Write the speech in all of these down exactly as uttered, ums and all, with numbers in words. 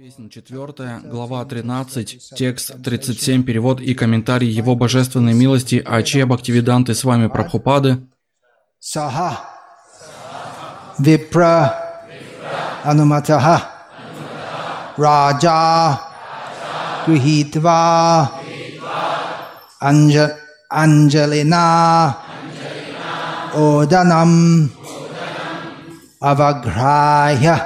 Песня четвертая, глава тринадцать, текст тридцать семь, перевод и комментарий Его Божественной милости Аче Бхактивиданты с вами Прабхупады. Саха Випра Ануматаха Раджа Грихитва Анджалина Оданам Аваграя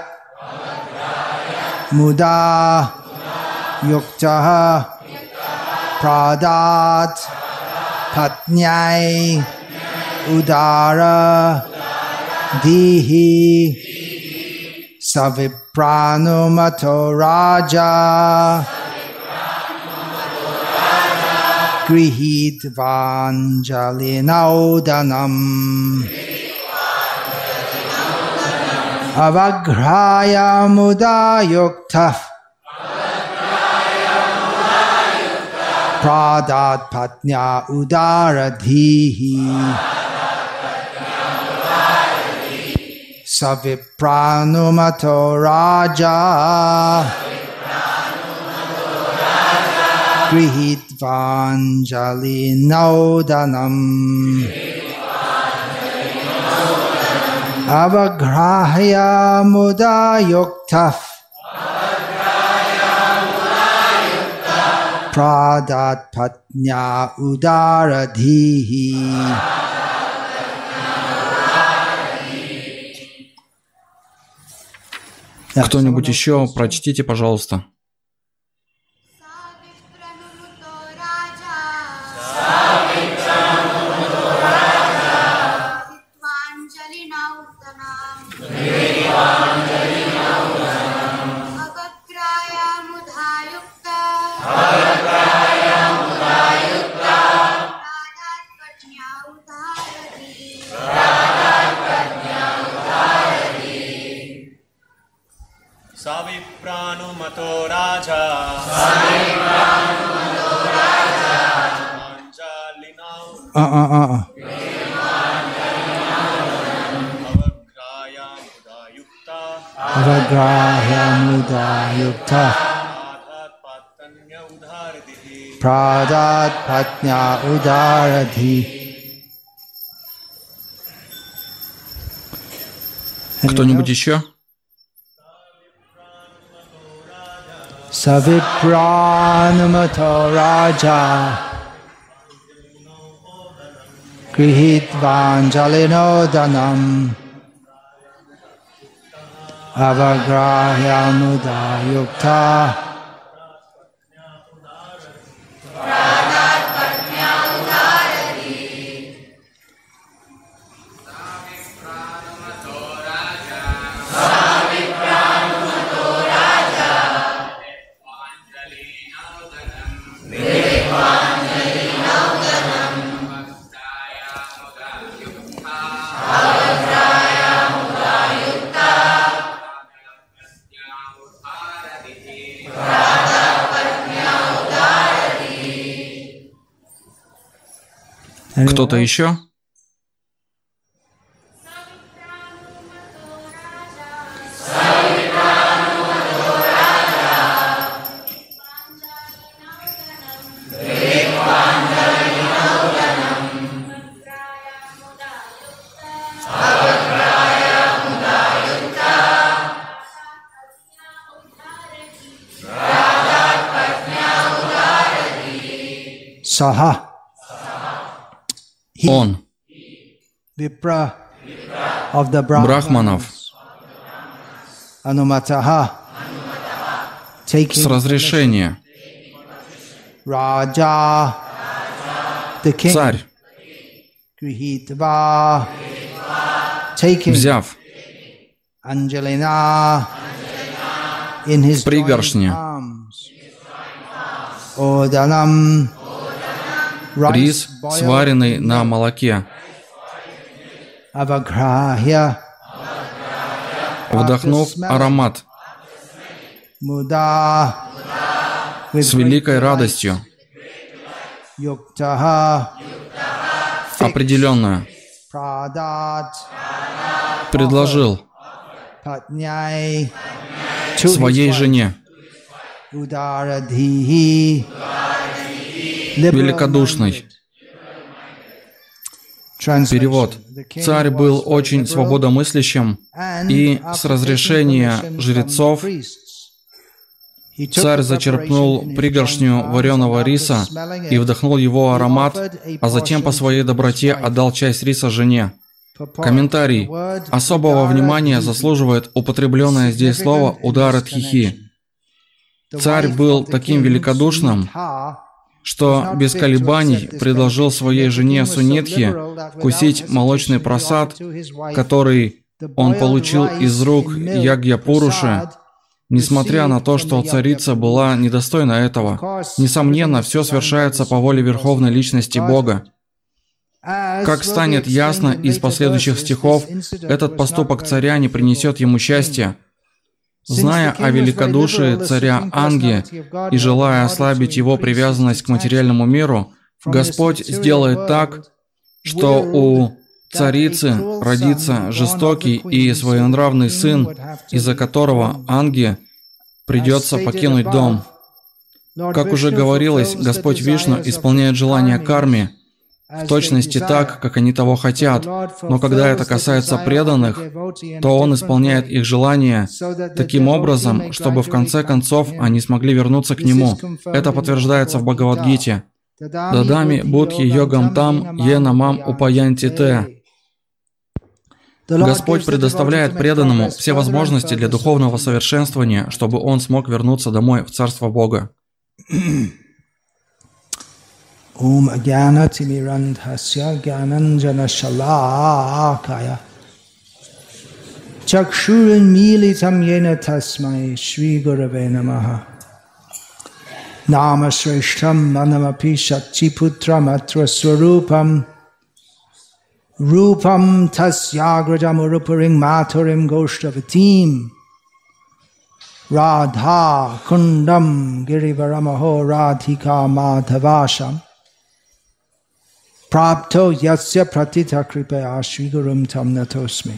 Муда Юктаха Прадат Патняй Удара Дихи Савипранумато Раджа Грихитванджалинауданам Avaghraya muda yukta Pradat patnya udaradhihi Savipranumato raja Grihitvanjalinaudanam Avaghrahya muda yukta Pradat patnya udaradhihi. Кто-нибудь еще? Прочтите, пожалуйста. Savipranumato raja Uh, uh, uh, uh. Avagrahya muda yukta Pradat patnya udaradhi. Кто-нибудь еще? Savipranumato raja Grihitvanjalinodanam Avagrahya muda yukta Кто-то еще? Saha Он, Vipra of the Брахманов, Anumataha с taking разрешения, Raja the king царь, Grihitva taking взяв Anjalina in his пригоршни, joint arms Odanam рис, сваренный на молоке, Avagrahya вдохнув аромат Muda с великой радостью, Yuktaha определенную, предложил своей жене Udaradhihi. Великодушный. Перевод. Царь был очень свободомыслящим, и с разрешения жрецов царь зачерпнул пригоршню вареного риса и вдохнул его аромат, а затем по своей доброте отдал часть риса жене. Комментарий. Особого внимания заслуживает употребленное здесь слово «ударадхихи». Царь был таким великодушным, что без колебаний предложил своей жене Сунетхе вкусить молочный прасад, который он получил из рук Ягья-пуруши, несмотря на то, что царица была недостойна этого. Несомненно, все совершается по воле Верховной Личности Бога. Как станет ясно из последующих стихов, этот поступок царя не принесет ему счастья. Зная о великодушии царя Анги и желая ослабить его привязанность к материальному миру, Господь сделает так, что у царицы родится жестокий и своенравный сын, из-за которого Анге придется покинуть дом. Как уже говорилось, Господь Вишну исполняет желания карми, в точности так, как они того хотят, но когда это касается преданных, то Он исполняет их желания таким образом, чтобы в конце концов они смогли вернуться к Нему. Это подтверждается в Бхагавад-гите. «Дадами будхи йогам там, е намам упаянти те». Господь предоставляет преданному все возможности для духовного совершенствования, чтобы он смог вернуться домой в Царство Бога. Om Agyana Timirandhasya Gyananjana Shalakaya Chakshurin Militam Yena Tasmai Shri Gurave Namaha Nama Shreshtam Manamapi Shakchiputram Atra Swarupam Rupam Tasyagrajam Urupuring Maturim Goshtavatim Radha Kundam Girivaramaho Radhika Madhavasham Prapto yasya pratita kripaya Shri Gurum tam natosmi.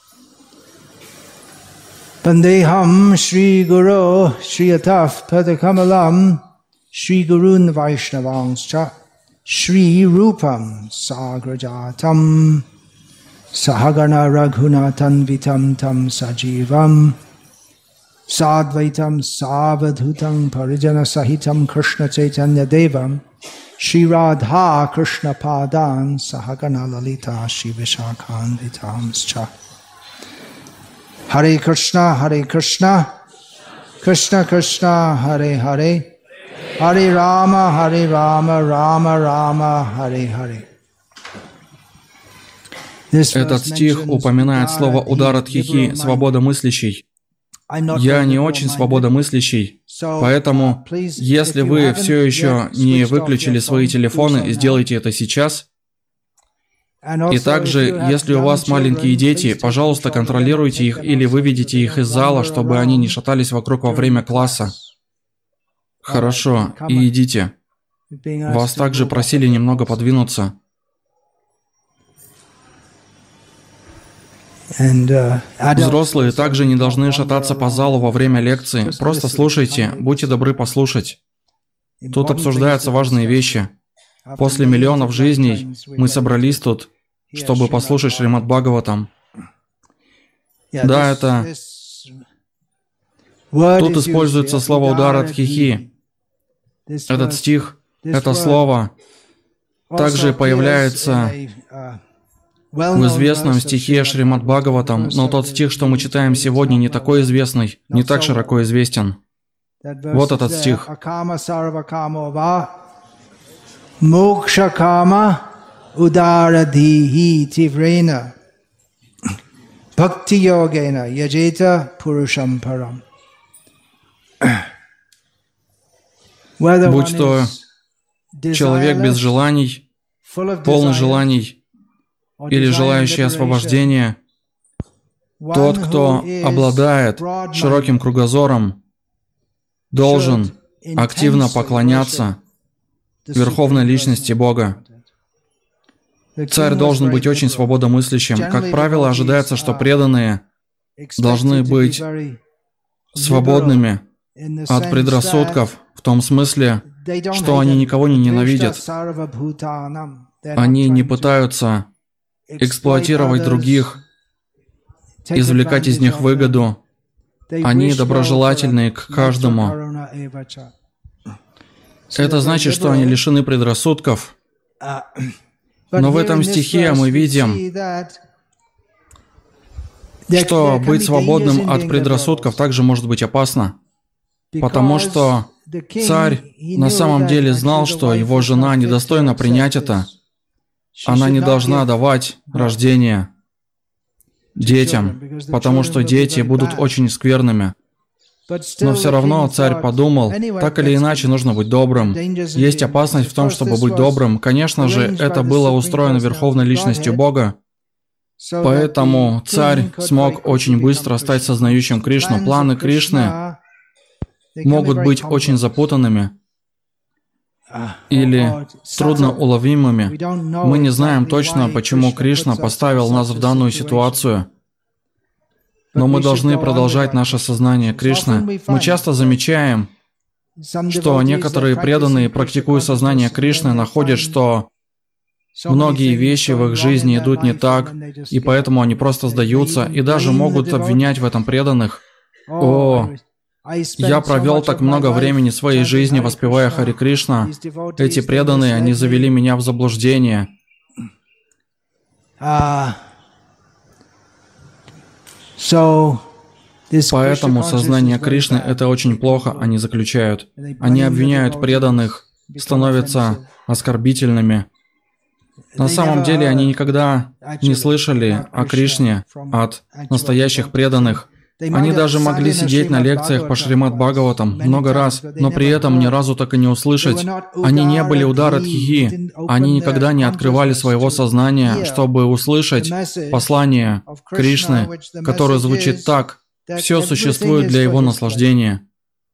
Pandeham Shri Guru Shri Ataf Padakamalam Shri Gurun Vaishnavangscha Shri Rupam Sagrajatam Sahagana Raghunatan Vitam Tam Sajivam Sadvaitam Savadhutam Parijana Sahitam Krishna Chaitanya Devam Shri Radha Krishna Padan Sahagana Lalita Shri Vishakhan Vitamscha. Hare Krishna, Hare Krishna, Krishna Krishna, Hare Hare, Hare Rama, Hare Rama, Rama Rama, Hare Hare. Этот стих упоминает слово «ударадхихи» — «свободомыслящий». Я не очень свободомыслящий, поэтому, если вы все еще не выключили свои телефоны, сделайте это сейчас. И также, если у вас маленькие дети, пожалуйста, контролируйте их или выведите их из зала, чтобы они не шатались вокруг во время класса. Хорошо, и идите. Вас также просили немного подвинуться. Взрослые также не должны шататься по залу во время лекции. Просто слушайте, будьте добры послушать. Тут обсуждаются важные вещи. После миллионов жизней мы собрались тут, чтобы послушать Шримад Бхагаватам. Да, это... Тут используется слово «ударадхихи». Этот стих, это слово также появляется в известном стихе Шримад Бхагаватам, но тот стих, что мы читаем сегодня, не такой известный, не так широко известен. Вот этот стих. Мокшакама ударадхихи тиврена бхакти-йогена яджета пурушам парам. Будь то человек без желаний, полный желаний, или желающий освобождения, тот, кто обладает широким кругозором, должен активно поклоняться Верховной Личности Бога. Царь должен быть очень свободомыслящим. Как правило, ожидается, что преданные должны быть свободными от предрассудков в том смысле, что они никого не ненавидят. Они не пытаются эксплуатировать других, извлекать из них выгоду. Они доброжелательны к каждому. Это значит, что они лишены предрассудков. Но в этом стихе мы видим, что быть свободным от предрассудков также может быть опасно, потому что царь на самом деле знал, что его жена недостойна принять это. Она не должна давать рождение детям, потому что дети будут очень скверными. Но все равно царь подумал, так или иначе нужно быть добрым. Есть опасность в том, чтобы быть добрым. Конечно же, это было устроено Верховной Личностью Бога. Поэтому царь смог очень быстро стать сознающим Кришну. Планы Кришны могут быть очень запутанными или трудноуловимыми. Мы не знаем точно, почему Кришна поставил нас в данную ситуацию. Но мы должны продолжать наше сознание Кришны. Мы часто замечаем, что некоторые преданные, практикуя сознание Кришны, находят, что многие вещи в их жизни идут не так, и поэтому они просто сдаются, и даже могут обвинять в этом преданных. О, я провел так много времени своей жизни, воспевая Хари Кришна. Эти преданные, они завели меня в заблуждение. Поэтому сознание Кришны — это очень плохо, они заключают. Они обвиняют преданных, становятся оскорбительными. На самом деле они никогда не слышали о Кришне от настоящих преданных. Они даже могли сидеть на лекциях по Шримад Бхагаватам много раз, но при этом ни разу так и не услышать. Они не были ударадхихи, они никогда не открывали своего сознания, чтобы услышать послание Кришны, которое звучит так: «Все существует для его наслаждения».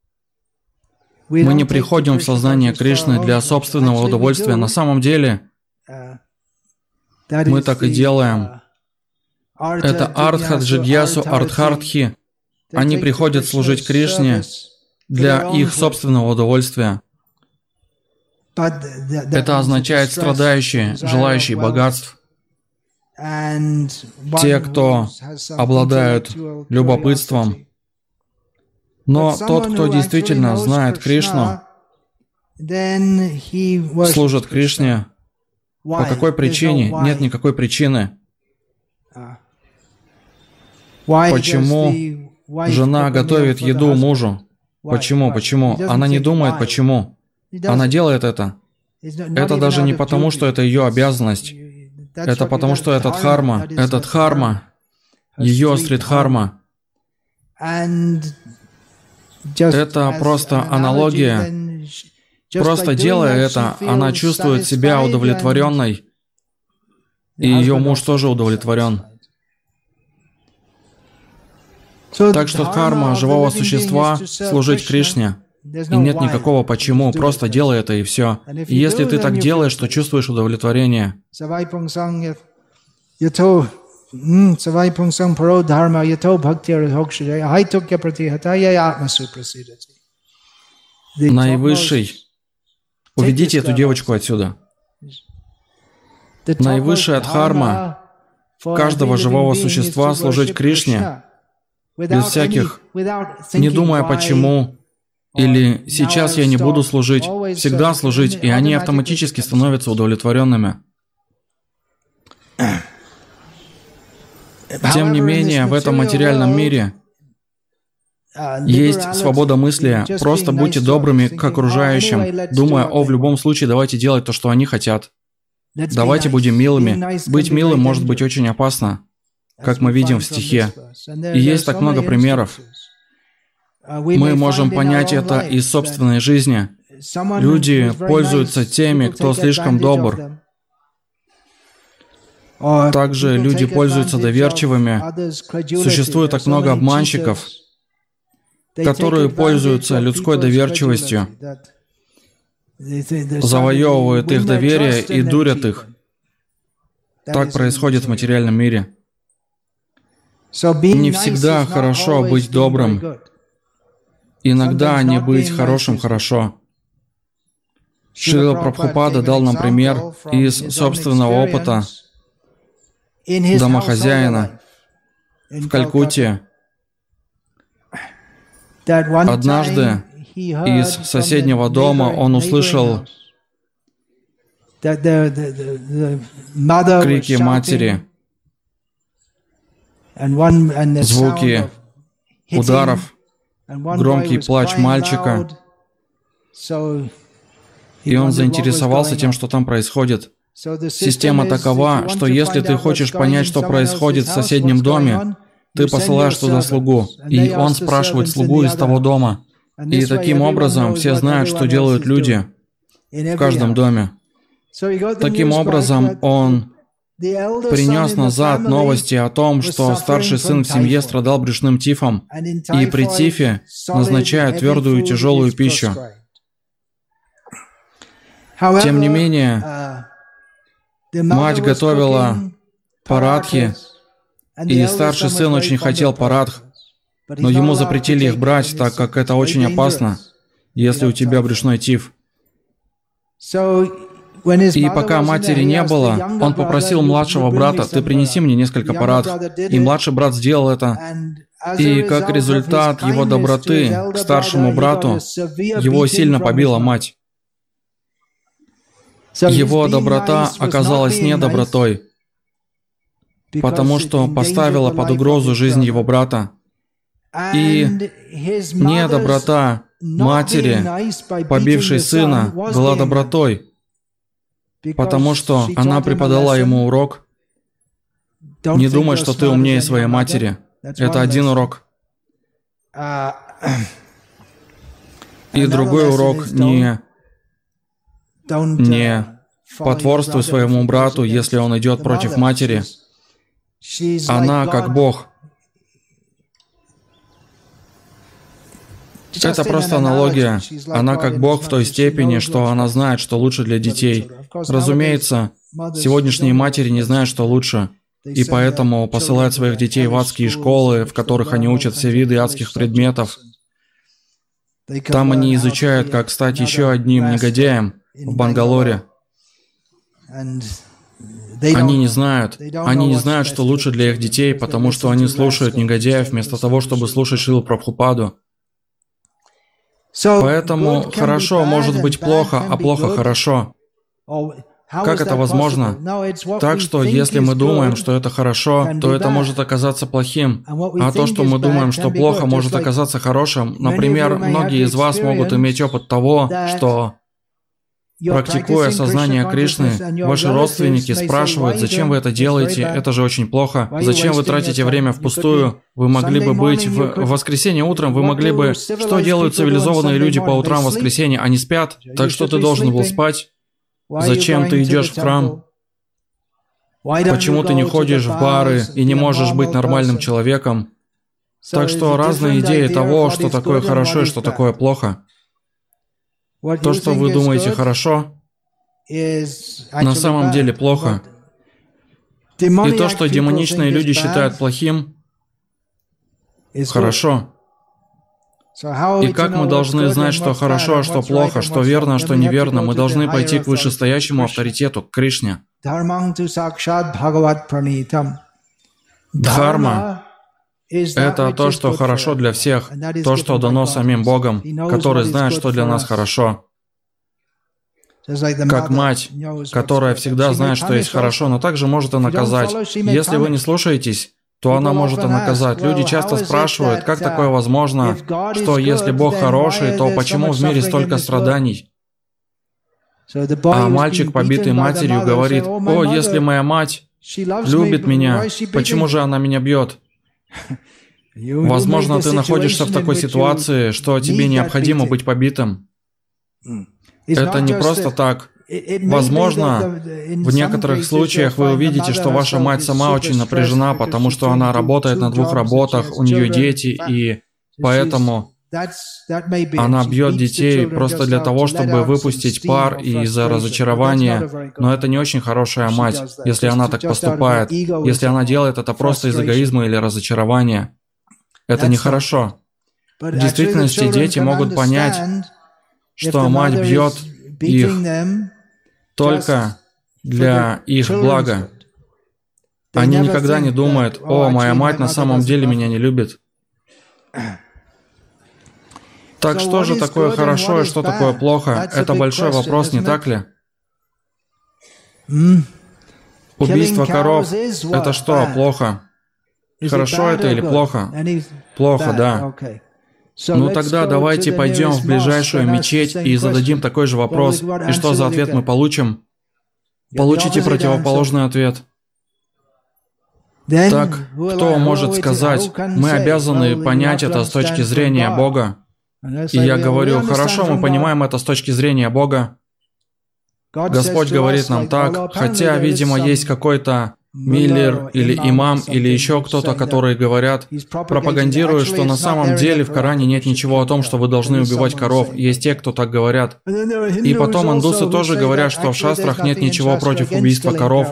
Мы не приходим в сознание Кришны для собственного удовольствия. На самом деле, мы так и делаем. Это Артха Джигьясу Артхартхи. Они приходят служить Кришне для их собственного удовольствия. Это означает страдающие, желающие богатств. Те, кто обладают любопытством. Но тот, кто действительно знает Кришну, служит Кришне. По какой причине? Нет никакой причины. Почему жена готовит еду мужу? Почему? Почему? Она не думает, почему. Она делает это. Это даже не потому, что это ее обязанность. Это потому, что это дхарма. Это дхарма. Ее сридхарма. Это просто аналогия. Просто делая это, она чувствует себя удовлетворенной, и ее муж тоже удовлетворен. Так что дхарма живого существа — служить Кришне. И нет никакого почему, просто делай это и все. И если ты так делаешь, то чувствуешь удовлетворение. Наивысший. Уведите эту девочку отсюда. Наивысшая дхарма каждого живого существа — служить Кришне, без всяких, не думая почему, или сейчас я не буду служить, всегда служить, и они автоматически становятся удовлетворенными. Тем не менее, в этом материальном мире есть свобода мысли. Просто будьте добрыми к окружающим, думая, о, в любом случае, давайте делать то, что они хотят. Давайте будем милыми. Быть милым может быть очень опасно, как мы видим в стихе. И есть так много примеров. Мы можем понять это из собственной жизни. Люди пользуются теми, кто слишком добр. Также люди пользуются доверчивыми. Существует так много обманщиков, которые пользуются людской доверчивостью, завоевывают их доверие и дурят их. Так происходит в материальном мире. Не всегда хорошо быть добрым. Иногда не быть хорошим хорошо. Шрила Прабхупада дал нам пример из собственного опыта домохозяина в Калькутте. Однажды из соседнего дома он услышал крики матери, звуки ударов, громкий плач мальчика. И он заинтересовался тем, что там происходит. Система такова, что если ты хочешь понять, что происходит в соседнем доме, ты посылаешь туда слугу, и он спрашивает слугу из того дома. И таким образом все знают, что делают люди в каждом доме. Таким образом, он принес назад новости о том, что старший сын в семье страдал брюшным тифом, и при тифе назначают твердую и тяжелую пищу. Тем не менее, мать готовила парадхи, и старший сын очень хотел парадх, но ему запретили их брать, так как это очень опасно, если у тебя брюшной тиф. И пока матери не было, он попросил младшего брата: «Ты принеси мне несколько парадх». И младший брат сделал это. И как результат его доброты к старшему брату, его сильно побила мать. Его доброта оказалась недобротой, потому что поставила под угрозу жизнь его брата. И недоброта матери, побившей сына, была добротой, потому что она преподала ему урок: не думай, что ты умнее своей матери. Это один урок. И другой урок: не Не потворствуй своему брату, если он идет против матери. Она как Бог. Это просто аналогия. Она как Бог в той степени, что она знает, что лучше для детей. Разумеется, сегодняшние матери не знают, что лучше, и поэтому посылают своих детей в адские школы, в которых они учат все виды адских предметов. Там они изучают, как стать еще одним негодяем в Бангалоре. Они не знают. Они не знают, что лучше для их детей, потому что они слушают негодяев вместо того, чтобы слушать Шрилу Прабхупаду. Поэтому хорошо может быть плохо, а плохо хорошо. Как это возможно? Так что, если мы думаем, что это хорошо, то это может оказаться плохим. А то, что мы думаем, что плохо, может оказаться хорошим. Например, многие из вас могут иметь опыт того, что, практикуя сознание Кришны, ваши родственники спрашивают: «Зачем вы это делаете? Это же очень плохо. Зачем вы тратите время впустую? Вы могли бы быть в воскресенье утром, вы могли бы...» Что делают цивилизованные люди по утрам в воскресенье? Они спят. Так что ты должен был спать. Зачем ты идешь в храм? Почему ты не ходишь в бары и не можешь быть нормальным человеком? Так что разные идеи того, что такое хорошо и что такое плохо. То, что вы думаете хорошо, на самом деле плохо. И то, что демоничные люди считают плохим, хорошо. И как мы должны знать, что хорошо, а что плохо, что верно, а что неверно? Мы должны пойти к вышестоящему авторитету, к Кришне. Дхарма — это то, что хорошо для всех, то, что дано самим Богом, который знает, что для нас хорошо. Как мать, которая всегда знает, что есть хорошо, но также может и наказать. Если вы не слушаетесь, то она может и наказать. Люди часто спрашивают, как такое возможно, что если Бог хороший, то почему в мире столько страданий? А мальчик, побитый матерью, говорит: «О, если моя мать любит меня, почему же она меня бьет?» Возможно, ты находишься в такой ситуации, что тебе необходимо быть побитым. Это не просто так. Возможно, в некоторых случаях вы увидите, что ваша мать сама очень напряжена, потому что она работает на двух работах, у нее дети, и поэтому она бьет детей просто для того, чтобы выпустить пар из-за разочарования. Но это не очень хорошая мать, если она так поступает. Если она делает это просто из эгоизма или разочарования. Это нехорошо. В действительности дети могут понять, что мать бьет их только для их блага. Они никогда не думают: «О, моя мать на самом деле меня не любит». Так что же такое хорошо и что такое плохо? Это большой вопрос, не так ли? Убийство коров — это что, плохо? Хорошо это или плохо? Плохо, да. Ну тогда давайте пойдем в ближайшую мечеть и зададим такой же вопрос. И что за ответ мы получим? Получите противоположный ответ. Так, кто может сказать: мы обязаны понять это с точки зрения Бога? И я говорю: хорошо, мы понимаем это с точки зрения Бога. Господь говорит нам так, хотя, видимо, есть какой-то миллер или имам или еще кто-то, которые говорят, пропагандируют, что на самом деле в Коране нет ничего о том, что вы должны убивать коров. Есть те, кто так говорят. И потом индусы тоже говорят, что в шастрах нет ничего против убийства коров.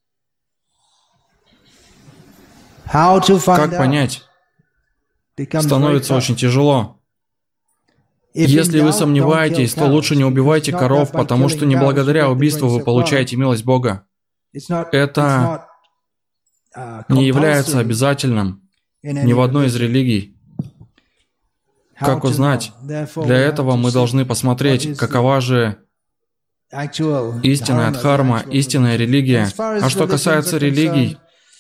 Как понять? Становится очень тяжело. Если вы сомневаетесь, то лучше не убивайте коров, потому что не благодаря убийству вы получаете милость Бога. Это не является обязательным ни в одной из религий. Как узнать? Для этого мы должны посмотреть, какова же истинная дхарма, истинная религия. А что касается религий,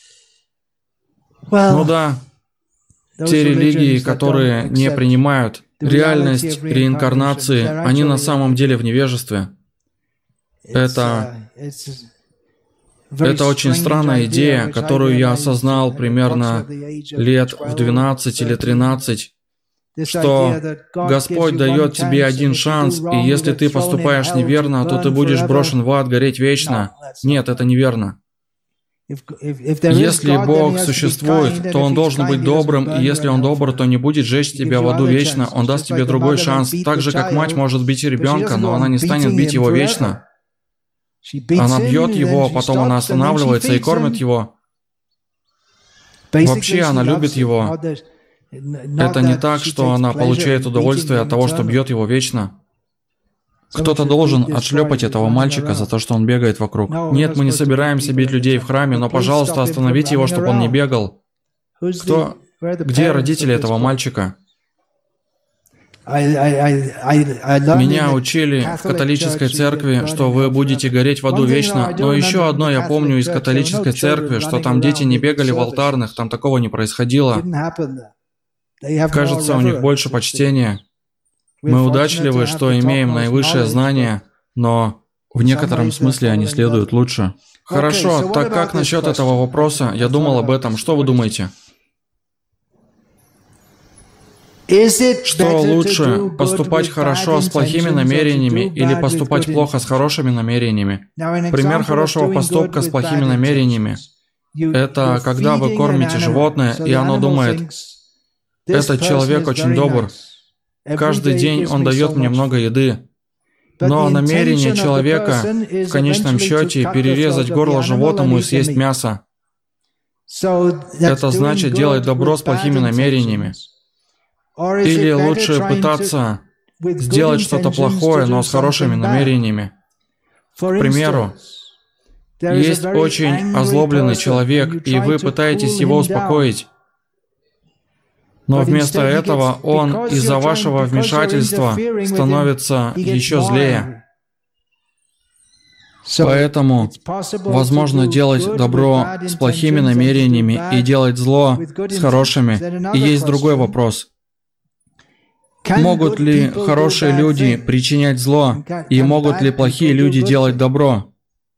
ну да, те религии, которые не принимают реальность реинкарнации, они на самом деле в невежестве. Это, это очень странная идея, которую я осознал примерно лет в двенадцать или тринадцать, что Господь дает тебе один шанс, и если ты поступаешь неверно, то ты будешь брошен в ад гореть вечно. Нет, это неверно. Если Бог существует, то Он должен быть добрым, и если Он добр, то не будет жечь тебя в аду вечно, Он даст тебе другой шанс. Так же, как мать может бить ребенка, но она не станет бить его вечно. Она бьет его, потом она останавливается и кормит его. Вообще она любит его. Это не так, что она получает удовольствие от того, что бьет его вечно. Кто-то должен отшлепать этого мальчика за то, что он бегает вокруг. Нет, мы не собираемся бить людей в храме, но, пожалуйста, остановите его, чтобы он не бегал. Кто? Где родители этого мальчика? Меня учили в католической церкви, что вы будете гореть в аду вечно, но еще одно я помню из католической церкви, что там дети не бегали в алтарных, там такого не происходило. Кажется, у них больше почтения. Мы удачливы, что имеем наивысшее знание, но в некотором смысле они следуют лучше. Хорошо, так как насчет этого вопроса? Я думал об этом. Что вы думаете? Что лучше, поступать хорошо с плохими намерениями или поступать плохо с хорошими намерениями? Пример хорошего поступка с плохими намерениями – это когда вы кормите животное, и оно думает: «Этот человек очень добр. Каждый день он дает мне много еды». Но намерение человека в конечном счете перерезать горло животному и съесть мясо. Это значит делать добро с плохими намерениями. Или лучше пытаться сделать что-то плохое, но с хорошими намерениями. К примеру, есть очень озлобленный человек, и вы пытаетесь его успокоить. Но вместо этого он из-за вашего вмешательства становится еще злее. Поэтому возможно делать добро с плохими намерениями и делать зло с хорошими. И есть другой вопрос. Могут ли хорошие люди причинять зло, и могут ли плохие люди делать добро?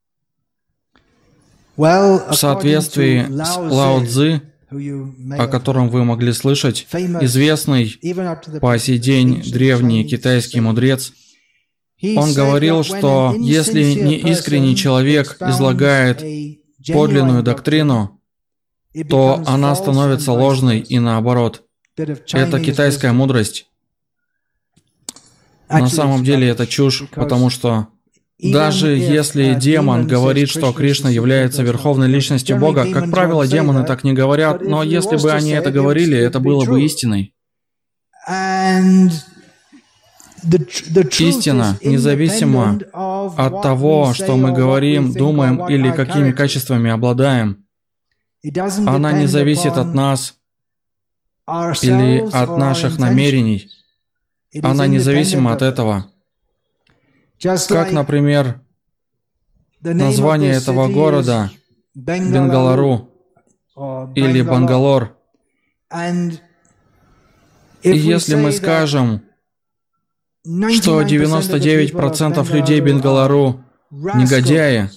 В соответствии с Лао Цзы, о котором вы могли слышать, известный по сей день древний китайский мудрец, он говорил, что если неискренний человек излагает подлинную доктрину, то она становится ложной и наоборот. Это китайская мудрость. На самом деле это чушь, потому что даже если демон говорит, что Кришна является верховной личностью Бога, как правило, демоны так не говорят, но если бы они это говорили, это было бы истиной. Истина независима от того, что мы говорим, думаем или какими качествами обладаем. Она не зависит от нас или от наших намерений. Она независима от этого. Как, например, название этого города Бенгалару или Бангалор. И если мы скажем, что девяносто девять процентов людей Бенгалару негодяи,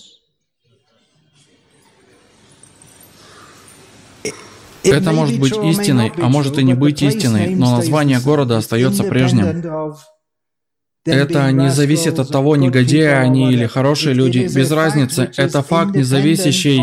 это может быть истиной, а может и не быть истиной, но название города остается прежним. Это не зависит от того, негодяи они или хорошие люди, без разницы. Это факт, не зависящий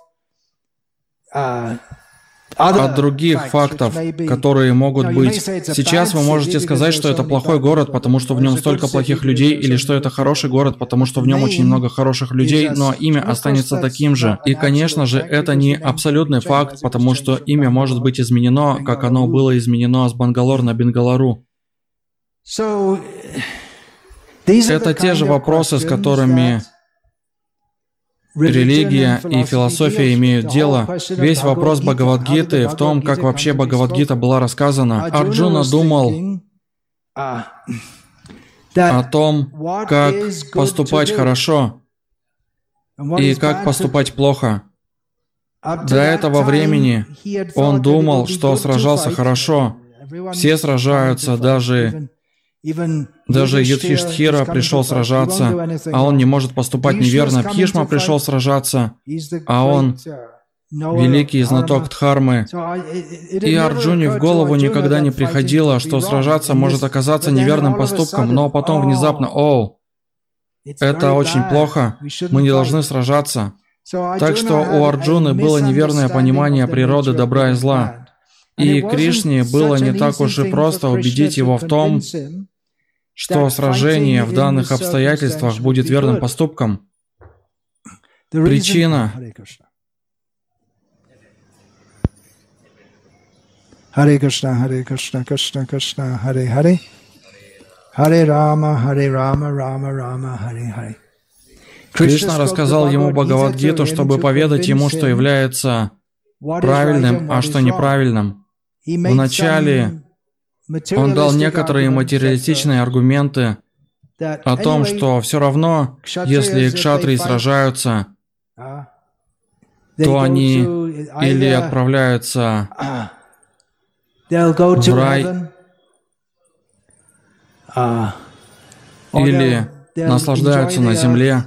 от других фактов, которые могут быть. Сейчас вы можете сказать, что это плохой город, потому что в нем столько плохих людей, или что это хороший город, потому что в нем очень много хороших людей, но имя останется таким же. И, конечно же, это не абсолютный факт, потому что имя может быть изменено, как оно было изменено с Бангалор на Бенгалару. Это те же вопросы, с которыми религия и философия имеют дело. Весь вопрос Бхагавад-гиты в том, как вообще Бхагавад-гита была рассказана. Арджуна думал о том, как поступать хорошо и как поступать плохо. До этого времени он думал, что сражался хорошо. Все сражаются, даже... Даже Юдхиштхира пришел сражаться, а он не может поступать неверно. Бхишма пришел сражаться, а он великий знаток Дхармы. И Арджуне в голову никогда не приходило, что сражаться может оказаться неверным поступком, но потом внезапно, о, это очень плохо, мы не должны сражаться. Так что у Арджуны было неверное понимание природы добра и зла. И Кришне было не так уж и просто убедить его в том, что сражение в данных обстоятельствах будет верным поступком. Причина. Харе Кришна, Харе Кришна, Кришна Кришна, Харе Харе, Харе Рама, Харе Рама, Рама Рама, Харе Харе. Кришна рассказал ему Бхагавад-гиту, чтобы поведать ему, что является правильным, а что неправильным. Вначале он дал некоторые материалистичные аргументы о том, что все равно, если кшатрии сражаются, то они или отправляются в рай, или наслаждаются на земле.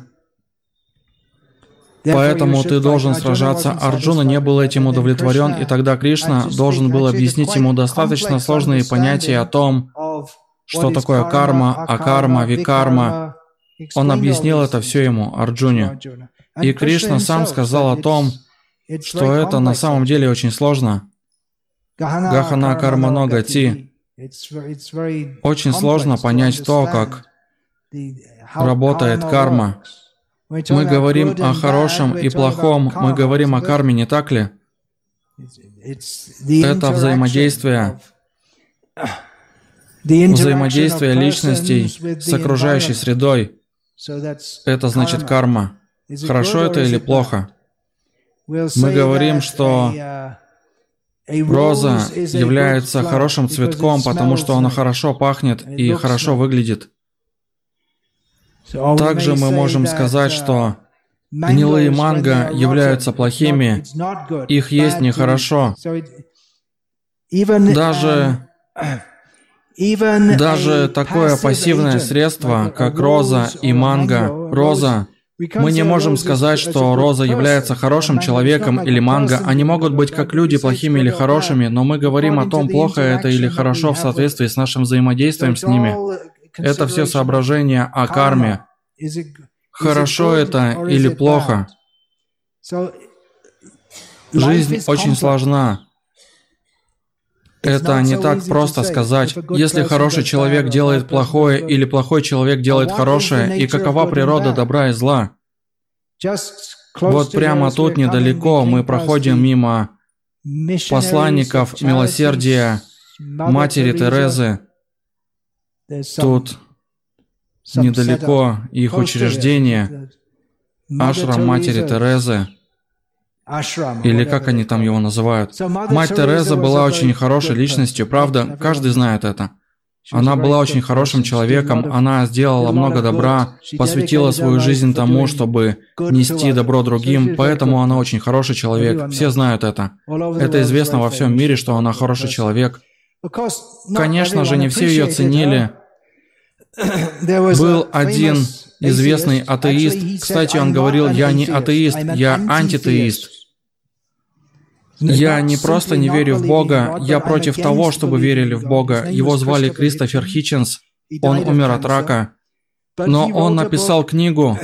Поэтому ты должен сражаться. Арджуна не был этим удовлетворен, и тогда Кришна должен был объяснить ему достаточно сложные понятия о том, что такое карма, акарма, викарма. Он объяснил это все ему, Арджуне. И Кришна сам сказал о том, что это на самом деле очень сложно. Гахана кармано гати. Очень сложно понять то, как работает карма. Мы говорим о хорошем и плохом, мы говорим о карме, не так ли? Это взаимодействие, взаимодействие личностей с окружающей средой. Это значит карма. Хорошо это или плохо? Мы говорим, что роза является хорошим цветком, потому что она хорошо пахнет и хорошо выглядит. Также мы можем сказать, что гнилые манго являются плохими, их есть нехорошо. Даже, даже такое пассивное средство, как роза и манго, роза, мы не можем сказать, что роза является хорошим человеком или манго. Они могут быть как люди, плохими или хорошими, но мы говорим о том, плохо это или хорошо в соответствии с нашим взаимодействием с ними. Это все соображения о карме. Хорошо это или плохо. Жизнь очень сложна. Это не так просто сказать, если хороший человек делает плохое или плохой человек делает хорошее, и какова природа добра и зла. Вот прямо тут недалеко мы проходим мимо посланников милосердия матери Терезы. Тут недалеко их учреждение, ашрам матери Терезы, или как они там его называют. Мать Тереза была очень хорошей личностью, правда, каждый знает это. Она была очень хорошим человеком, она сделала много добра, посвятила свою жизнь тому, чтобы нести добро другим, поэтому она очень хороший человек, все знают это. Это известно во всем мире, что она хороший человек. Конечно же, не все ее ценили. Был один известный атеист, кстати, он говорил: «Я не атеист, я антитеист». Я не просто не верю в Бога, я против того, чтобы верили в Бога. Его звали Кристофер Хитчинс, он умер от рака. Но он написал книгу,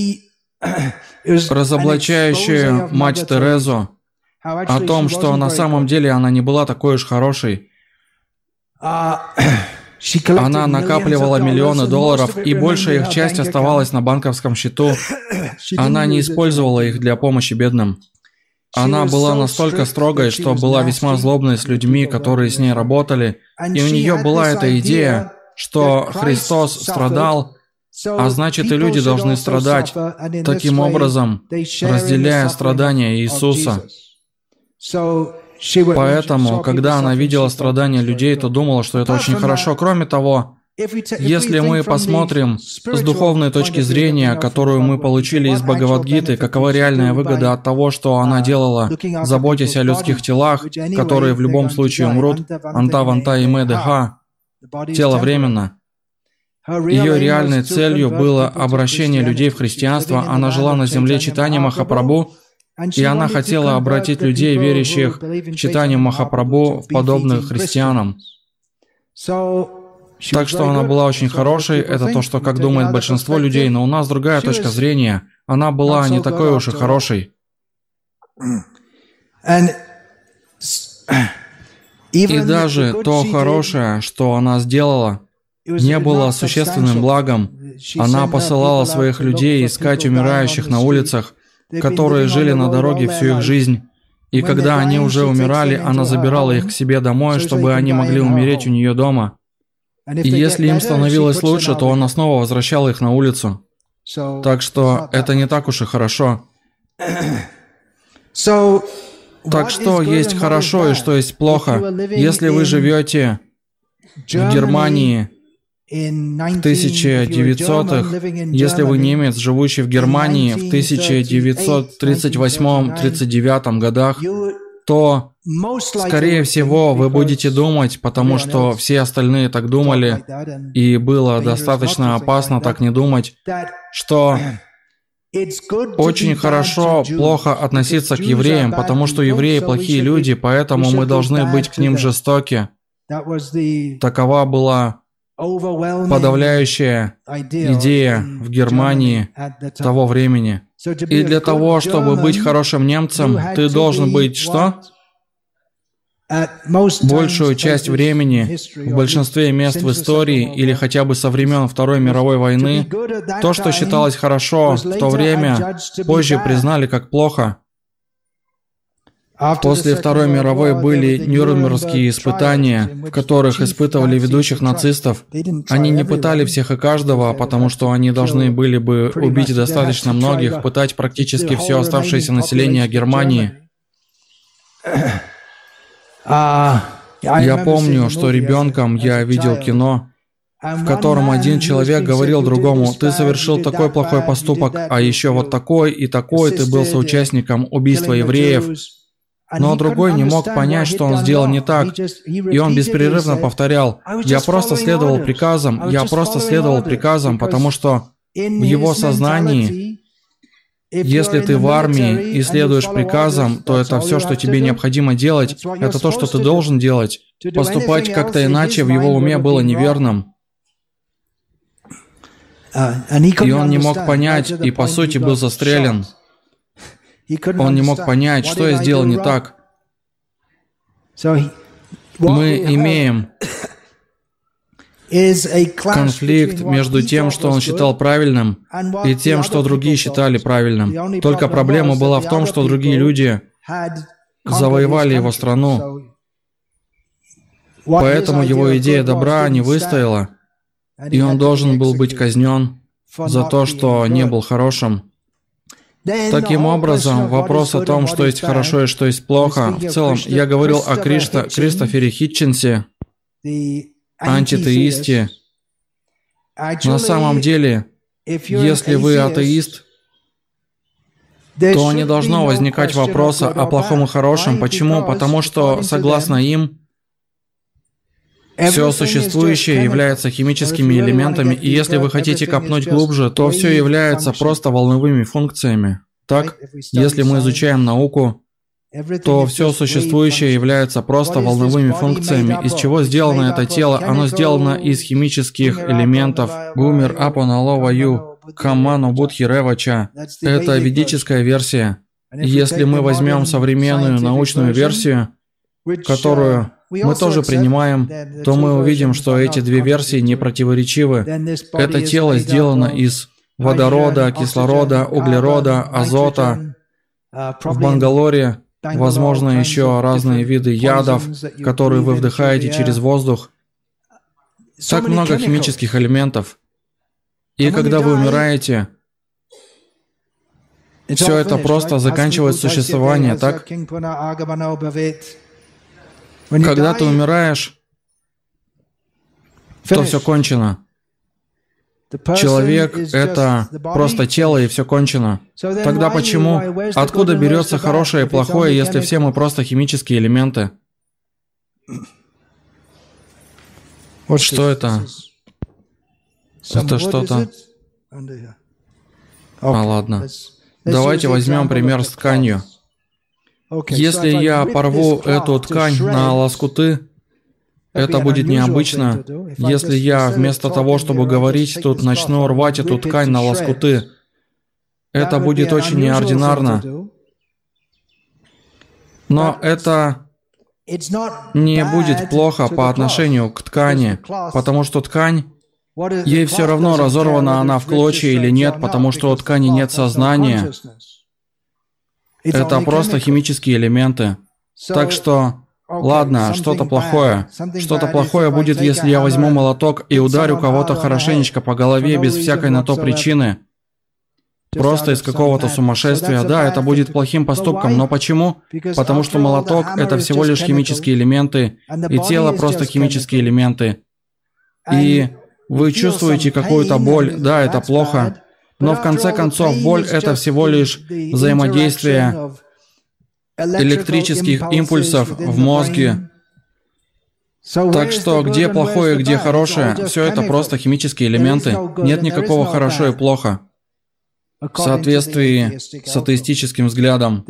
разоблачающую мать Терезу, о том, что на самом деле она не была такой уж хорошей. Она накапливала миллионы долларов, и большая их часть оставалась на банковском счету. Она не использовала их для помощи бедным. Она была настолько строгой, что была весьма злобной с людьми, которые с ней работали, и у нее была эта идея, что Христос страдал, а значит и люди должны страдать, таким образом разделяя страдания Иисуса. Поэтому, когда она видела страдания людей, то думала, что это очень хорошо. Кроме того, если мы посмотрим с духовной точки зрения, которую мы получили из Бхагавад-гиты, какова реальная выгода от того, что она делала, заботясь о людских телах, которые в любом случае умрут, анта, ванта и медеха, тело временно. Ее реальной целью было обращение людей в христианство. Она жила на земле читания Махапрабху, и она хотела обратить людей, верящих в читание Махапрабху, в подобных христианам. Так что она была очень хорошей, это то, что как думает большинство людей, но у нас другая точка зрения. Она была не такой уж и хорошей. И даже то хорошее, что она сделала, не было существенным благом. Она посылала своих людей искать умирающих на улицах, которые жили на дороге всю их жизнь. И когда они уже умирали, она забирала их к себе домой, чтобы они могли умереть у нее дома. И если им становилось лучше, то она снова возвращала их на улицу. Так что это не так уж и хорошо. Так что есть хорошо и что есть плохо. Если вы живете в Германии в тысяча девятисотых, если вы немец, живущий в Германии в тысяча девятьсот тридцать восьмом — тридцать девятом годах, то, скорее всего, вы будете думать, потому что все остальные так думали, и было достаточно опасно так не думать, что очень хорошо плохо относиться к евреям, потому что евреи плохие люди, поэтому мы должны быть к ним жестоки. Такова была подавляющая идея в Германии того времени. И для того, чтобы быть хорошим немцем, ты должен быть что? Большую часть времени, в большинстве мест в истории, или хотя бы со времен Второй мировой войны, то, что считалось хорошо в то время, позже признали как плохо. После Второй мировой были Нюрнбергские испытания, в которых испытывали ведущих нацистов. Они не пытали всех и каждого, потому что они должны были бы убить достаточно многих, пытать практически все оставшееся население Германии. Я помню, что ребенком я видел кино, в котором один человек говорил другому: «Ты совершил такой плохой поступок, а еще вот такой и такой, ты был соучастником убийства евреев». Но другой не мог понять, что он сделал не так, и он беспрерывно повторял: «Я просто следовал приказам, я просто следовал приказам», потому что в его сознании, если ты в армии и следуешь приказам, то это все, что тебе необходимо делать, это то, что ты должен делать. Поступать как-то иначе в его уме было неверным. И он не мог понять, и по сути был застрелен. Он не мог понять, что я сделал не так. Мы имеем конфликт между тем, что он считал правильным, и тем, что другие считали правильным. Только проблема была в том, что другие люди завоевали его страну. Поэтому его идея добра не выстояла, и он должен был быть казнен за то, что не был хорошим. Таким образом, вопрос о том, что есть хорошо и что есть плохо, в целом, я говорил о Кришта, Кристофере Хитчинсе, антитеисте. На самом деле, если вы атеист, то не должно возникать вопроса о плохом и хорошем. Почему? Потому что, согласно им, все существующее является химическими элементами, и если вы хотите копнуть глубже, то все является просто волновыми функциями. Так, если мы изучаем науку, то все существующее является просто волновыми функциями. Из чего сделано это тело? Оно сделано из химических элементов. Гумир Апоналова Ю, Каману Будхи Ревача. Это ведическая версия. Если мы возьмем современную научную версию, которую мы тоже принимаем, то мы увидим, что эти две версии не противоречивы. Это тело сделано из водорода, кислорода, углерода, азота. В Бангалоре, возможно, еще разные виды ядов, которые вы вдыхаете через воздух. Так много химических элементов. И когда вы умираете, все это просто заканчивает существование, так? Когда ты умираешь, то все кончено. Человек — это просто тело, и все кончено. Тогда почему? Откуда берется хорошее и плохое, если все мы просто химические элементы? Что это? Это что-то... А, ладно. Давайте возьмем пример с тканью. Если я порву эту ткань на лоскуты, это будет необычно. Если я вместо того, чтобы говорить, тут начну рвать эту ткань на лоскуты, это будет очень неординарно. Но это не будет плохо по отношению к ткани, потому что ткань, ей все равно, разорвана она в клочья или нет, потому что у ткани нет сознания. Это просто химические элементы. Так что, ладно, что-то плохое. Что-то плохое будет, если я возьму молоток и ударю кого-то хорошенечко по голове без всякой на то причины. Просто из какого-то сумасшествия. Да, это будет плохим поступком, но почему? Потому что молоток — это всего лишь химические элементы, и тело — просто химические элементы. И вы чувствуете какую-то боль, да, это плохо. Но в конце концов, боль — это всего лишь взаимодействие электрических импульсов в мозге. Так что, где плохое, где хорошее, все это просто химические элементы. Нет никакого хорошо и плохо. В соответствии с атеистическим взглядом.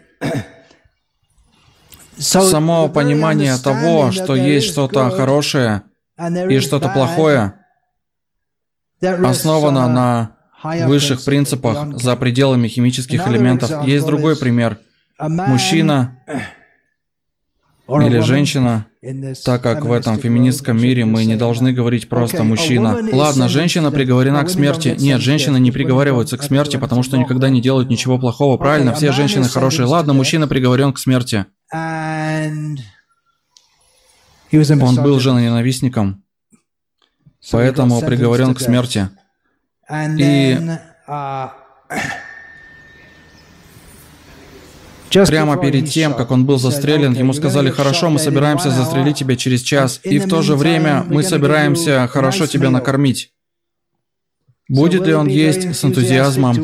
Само понимание того, что есть что-то хорошее и что-то плохое, основано на высших принципах за пределами химических элементов. Есть другой пример. Мужчина или женщина, так как в этом феминистском мире мы не должны говорить просто «мужчина». Ладно, женщина приговорена к смерти. Нет, женщины не приговариваются к смерти, потому что никогда не делают ничего плохого. Правильно, все женщины хорошие. Ладно, мужчина приговорен к смерти. Он был женоненавистником, поэтому приговорен к смерти. И прямо перед тем, как он был застрелен, ему сказали: «Хорошо, мы собираемся застрелить тебя через час, и в то же время мы собираемся хорошо тебя накормить». Будет ли он есть с энтузиазмом?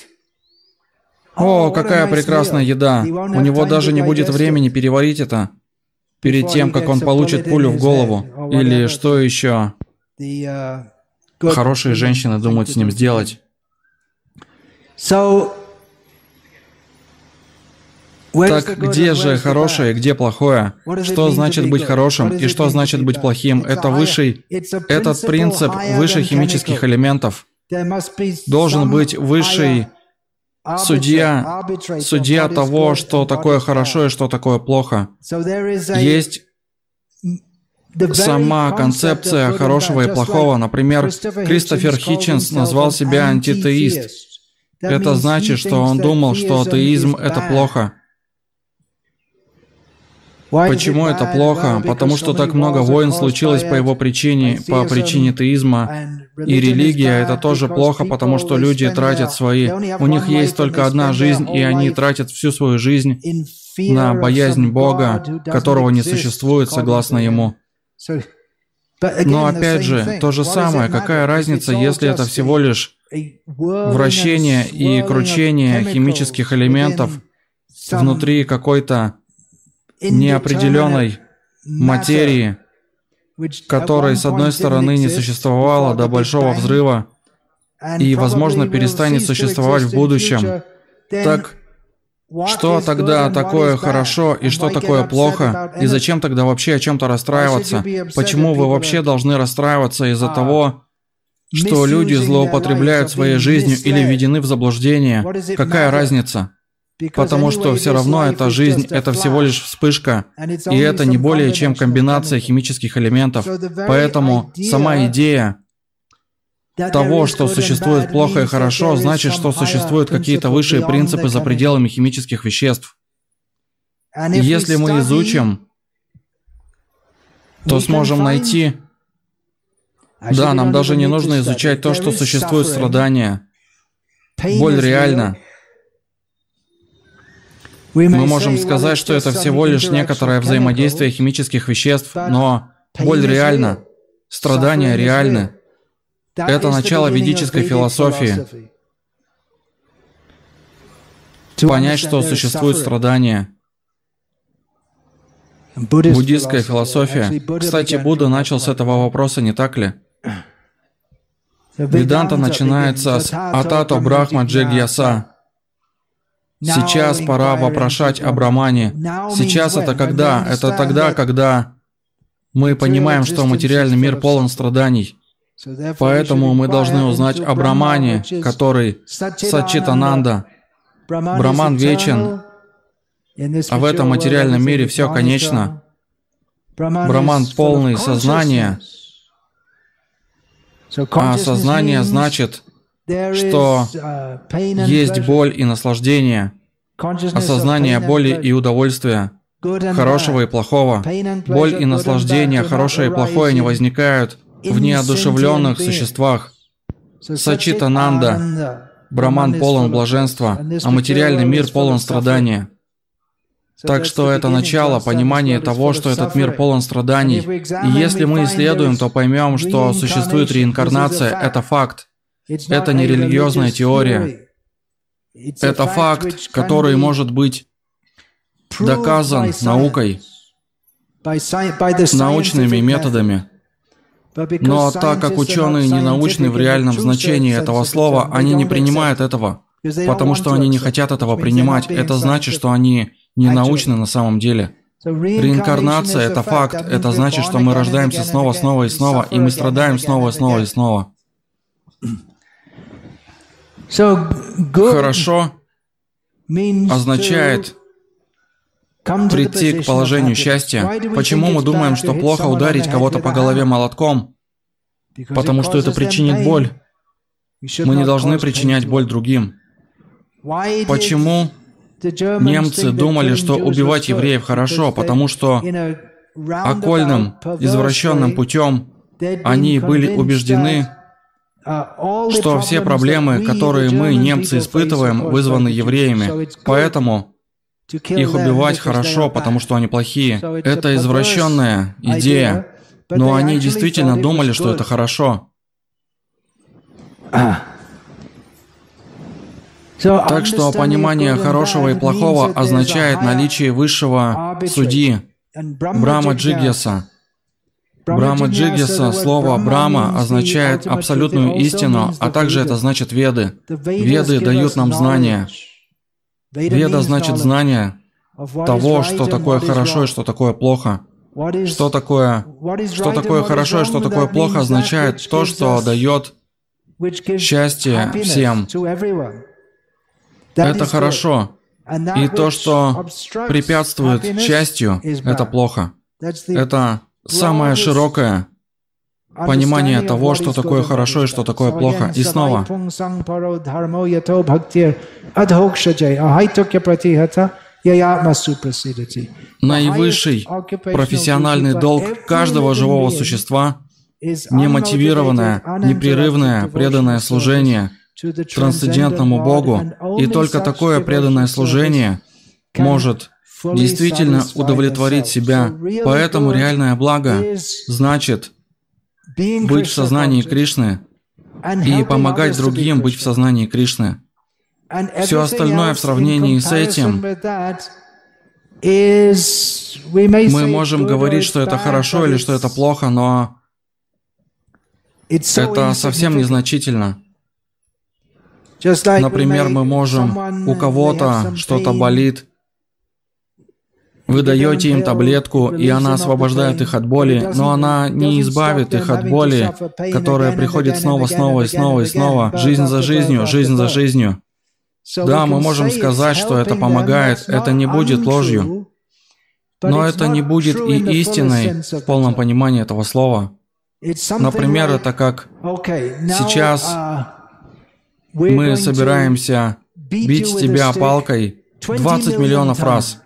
О, какая прекрасная еда! У него даже не будет времени переварить это перед тем, как он получит пулю в голову. Или что еще хорошие женщины думают с ним сделать. Так где же хорошее, где плохое? Что значит быть хорошим и что значит быть плохим? Это высший, этот принцип выше химических элементов. Должен быть высший судья, судья того, что такое хорошо и что такое плохо. Есть сама концепция хорошего и плохого. Например, Кристофер Хитчинс назвал себя антитеист. Это значит, что он думал, что атеизм — это плохо. Почему это плохо? Потому что так много войн случилось по его причине, по причине теизма. И религия — это тоже плохо, потому что люди тратят свои... У них есть только одна жизнь, и они тратят всю свою жизнь на боязнь Бога, которого не существует согласно Ему. Но опять же, то же самое, какая разница, если это всего лишь вращение и кручение химических элементов внутри какой-то неопределенной материи, которой, с одной стороны, не существовало до Большого взрыва и, возможно, перестанет существовать в будущем. Так что тогда такое хорошо и что такое плохо? И зачем тогда вообще о чем-то расстраиваться? Почему вы вообще должны расстраиваться из-за того, что люди злоупотребляют своей жизнью или введены в заблуждение? Какая разница? Потому что все равно эта жизнь — это всего лишь вспышка, и это не более чем комбинация химических элементов. Поэтому сама идея того, что существует плохо и хорошо, значит, что существуют какие-то высшие принципы за пределами химических веществ. И если мы изучим, то сможем найти... Да, нам даже не нужно изучать то, что существует страдания. Боль реальна. Мы можем сказать, что это всего лишь некоторое взаимодействие химических веществ, но боль реальна, страдания реальны. Это начало ведической философии. Понять, что существует страдания. Буддистская философия. Кстати, Будда начал с этого вопроса, не так ли? Веданта начинается с «Атато Брахма Джигьяса». Сейчас пора вопрошать о Брамане. Сейчас это когда? Это тогда, когда мы понимаем, что материальный мир полон страданий. Поэтому мы должны узнать о Брамане, который Саччитананда. Браман вечен, а в этом материальном мире все конечно. Браман полный сознания, а сознание значит, что есть боль и наслаждение, осознание боли и удовольствия, хорошего и плохого. Боль и наслаждение, хорошее и плохое не возникают в неодушевленных существах. Саччитананда. Браман полон блаженства, а материальный мир полон страдания. Так что это начало понимания того, что этот мир полон страданий. И если мы исследуем, то поймем, что существует реинкарнация. Это факт. Это не религиозная теория. Это факт, который может быть доказан наукой, научными методами. Но так как ученые не научны в реальном значении этого слова, они не принимают этого, потому что они не хотят этого принимать. Это значит, что они не научны на самом деле. Реинкарнация — это факт. Это значит, что мы рождаемся снова, снова и снова, и мы страдаем снова, снова и снова. Хорошо означает прийти к положению счастья. Почему мы думаем, что плохо ударить кого-то по голове молотком? Потому что это причинит боль. Мы не должны причинять боль другим. Почему немцы думали, что убивать евреев хорошо? Потому что окольным, извращенным путем они были убеждены, что все проблемы, которые мы, немцы, испытываем, вызваны евреями. Поэтому их убивать хорошо, потому что они плохие. Это извращенная идея. Но они действительно думали, что это хорошо. Так что понимание хорошего и плохого означает наличие высшего судьи, Брахма Джигьяса. Брахма Джигьяса, слово Брахма означает абсолютную истину, а также это значит Веды. Веды дают нам знания. Веда значит знание того, что такое хорошо и что такое плохо. Что такое, что такое хорошо и что такое плохо означает то, что дает счастье всем. Это хорошо. И то, что препятствует счастью, это плохо. Это самое широкое понимание того, что такое хорошо и что такое плохо. И снова. Наивысший профессиональный долг каждого живого существа – немотивированное, непрерывное, преданное служение трансцендентному Богу. И только такое преданное служение может действительно удовлетворить себя. Поэтому реальное благо значит быть в сознании Кришны и помогать другим быть в сознании Кришны. Все остальное в сравнении с этим, мы можем говорить, что это хорошо или что это плохо, но это совсем незначительно. Например, мы можем, у кого-то что-то болит, вы даете им таблетку, и она освобождает их от боли, но она не избавит их от боли, которая приходит снова, снова и снова и снова, жизнь за жизнью, жизнь за жизнью. Да, мы можем сказать, что это помогает, это не будет ложью, но это не будет и истиной в полном понимании этого слова. Например, это как сейчас мы собираемся бить тебя палкой двадцать миллионов раз.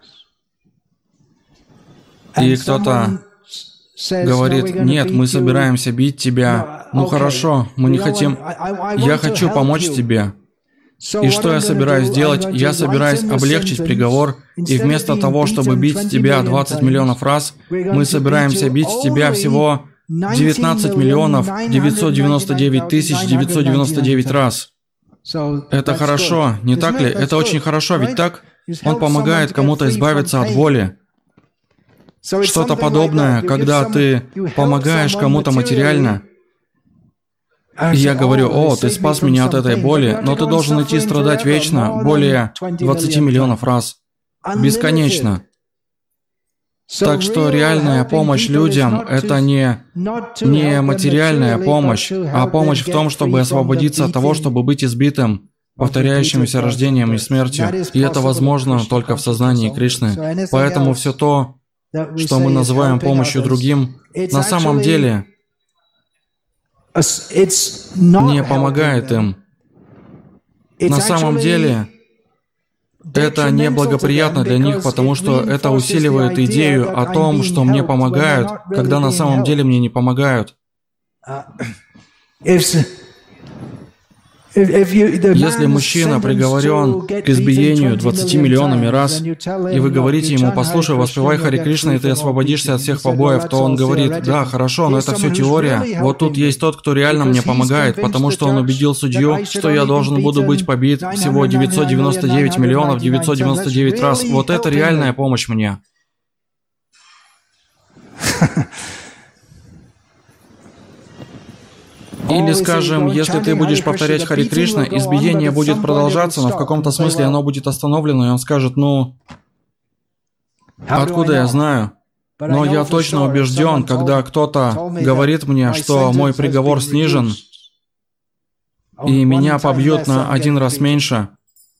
И кто-то говорит: нет, мы собираемся бить тебя. Ну хорошо, мы не хотим. Я хочу помочь тебе. И что я собираюсь делать? Я собираюсь облегчить приговор, и вместо того, чтобы бить тебя двадцать миллионов раз, мы собираемся бить тебя всего девятнадцать миллионов девятьсот девяносто девять тысяч девятьсот девяносто девять раз. Это хорошо, не так ли? Это очень хорошо, ведь так? Он помогает кому-то избавиться от боли. Что-то подобное, когда ты помогаешь кому-то материально. И я говорю: о, ты спас меня от этой боли, но ты должен идти страдать вечно, более двадцати миллионов раз. Бесконечно. Так что реальная помощь людям – это не, не материальная помощь, а помощь в том, чтобы освободиться от того, чтобы быть избитым повторяющимся рождением и смертью. И это возможно только в сознании Кришны. Поэтому все то, что мы называем помощью другим, на самом деле не помогает им. На самом деле, это неблагоприятно для них, потому что это усиливает идею о том, что мне помогают, когда на самом деле мне не помогают. Если мужчина приговорен к избиению двадцатью миллионами раз, и вы говорите ему: послушай, воспевай Харе Кришна, и ты освободишься от всех побоев, то он говорит: да, хорошо, но это все теория. Вот тут есть тот, кто реально мне помогает, потому что он убедил судью, что я должен буду быть побит всего девятьсот девяносто девять миллионов девятьсот девяносто девять раз. Вот это реальная помощь мне. Или, скажем, если ты будешь повторять Харе Кришна, избиение будет продолжаться, но в каком-то смысле оно будет остановлено, и он скажет: ну, откуда я знаю? Но я точно убежден, когда кто-то говорит мне, что мой приговор снижен, и меня побьют на один раз меньше.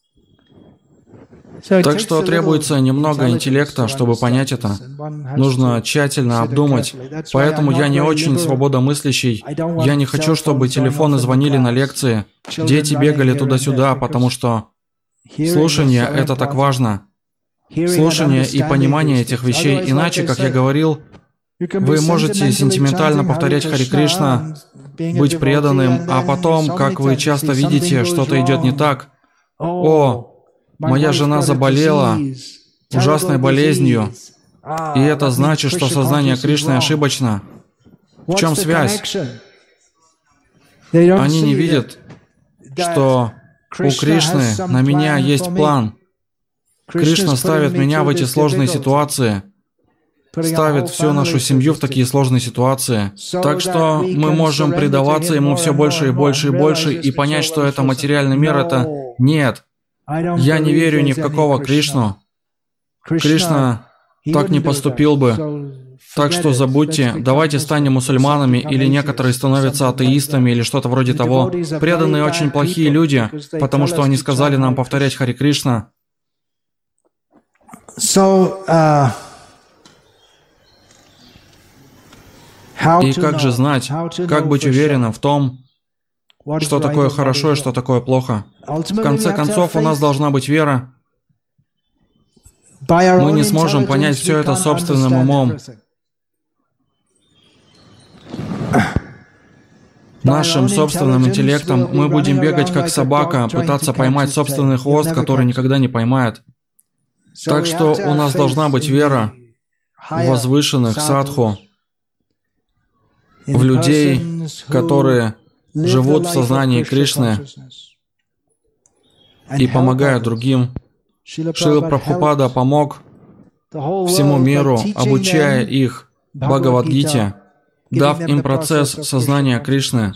Так что требуется немного интеллекта, чтобы понять это. Нужно тщательно обдумать. Поэтому я не очень свободомыслящий. Я не хочу, чтобы телефоны звонили на лекции, дети бегали туда-сюда, потому что слушание — это так важно. Слушание и понимание этих вещей. Иначе, как я говорил, вы можете сентиментально повторять Харе Кришна, быть преданным, а потом, как вы часто видите, что-то идет не так. О, моя жена заболела ужасной болезнью, и это значит, что сознание Кришны ошибочно. В чем связь? Они не видят, что у Кришны на меня есть план. Кришна ставит меня в эти сложные ситуации, ставит всю нашу семью в такие сложные ситуации. Так что мы можем предаваться Ему все больше и больше и больше и понять, что это материальный мир, это нет. Я не верю ни в какого Кришну. Кришна так не поступил бы. Так что забудьте, давайте станем мусульманами, или некоторые становятся атеистами, или что-то вроде того. Преданные очень плохие люди, потому что они сказали нам повторять Харе Кришна. И как же знать, как быть уверенным в том, что такое хорошо и что такое плохо? В конце концов, у нас должна быть вера. Мы не сможем понять все это собственным умом. Нашим собственным интеллектом мы будем бегать как собака, пытаться поймать собственный хвост, который никогда не поймает. Так что у нас должна быть вера в возвышенных садху, в людей, которые живут в сознании Кришны и помогают другим. Шрила Прабхупада помог всему миру, обучая их Бхагавад-гите, дав им процесс сознания Кришны.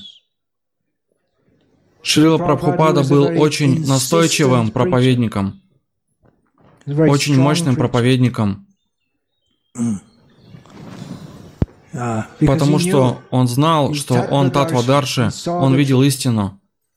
Шрила Прабхупада был очень настойчивым проповедником, очень мощным проповедником, потому что он знал, что он Таттвадарши, он видел истину.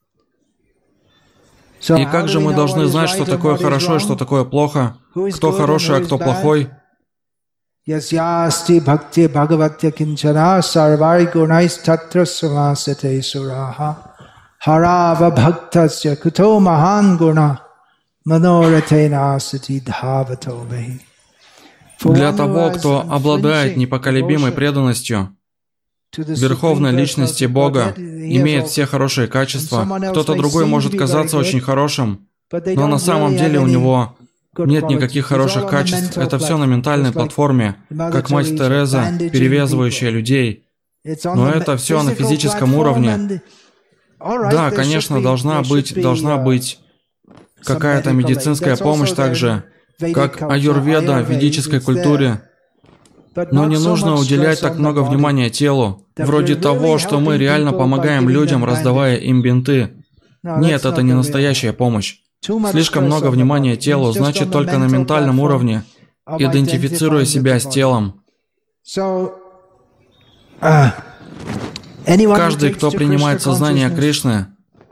И как же мы должны знать, что такое хорошо и что такое плохо? Кто хороший, а кто плохой? Ясясти бхакти бхагаватья кинчана сарвай гунайс таттра самасате сураха харава бхактасya kuto махан гуна маноратена асати дхавато вахи. Для того, кто обладает непоколебимой преданностью Верховной Личности Бога, имеет все хорошие качества, кто-то другой может казаться очень хорошим, но на самом деле у него нет никаких хороших качеств. Это все на ментальной платформе, как мать Тереза, перевязывающая людей. Но это все на физическом уровне. Да, конечно, должна быть, должна быть какая-то медицинская помощь также, как аюрведа в ведической культуре. Но не нужно уделять так много внимания телу, вроде того, что мы реально помогаем людям, раздавая им бинты. Нет, это не настоящая помощь. Слишком много внимания телу, значит, только на ментальном уровне, идентифицируя себя с телом. Каждый, кто принимает сознание Кришны,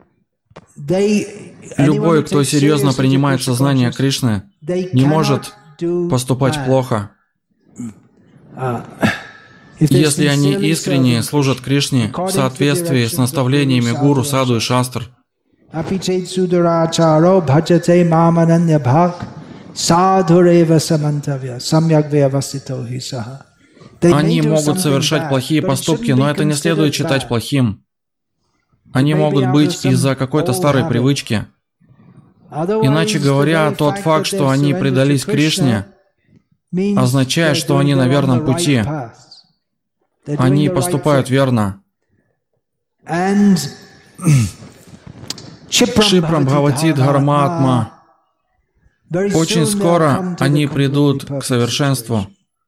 любой, кто серьезно принимает сознание Кришны, не может поступать плохо. Если они искренне служат Кришне в соответствии с наставлениями гуру, саду и шастр. Они могут совершать плохие поступки, но это не следует считать плохим. Они могут быть из-за какой-то старой привычки. Иначе говоря, тот факт, что они предались Кришне, означает, что они на верном пути. Они поступают верно. Кшипрам Бхавати Дхармаатма. Очень скоро они придут к совершенству.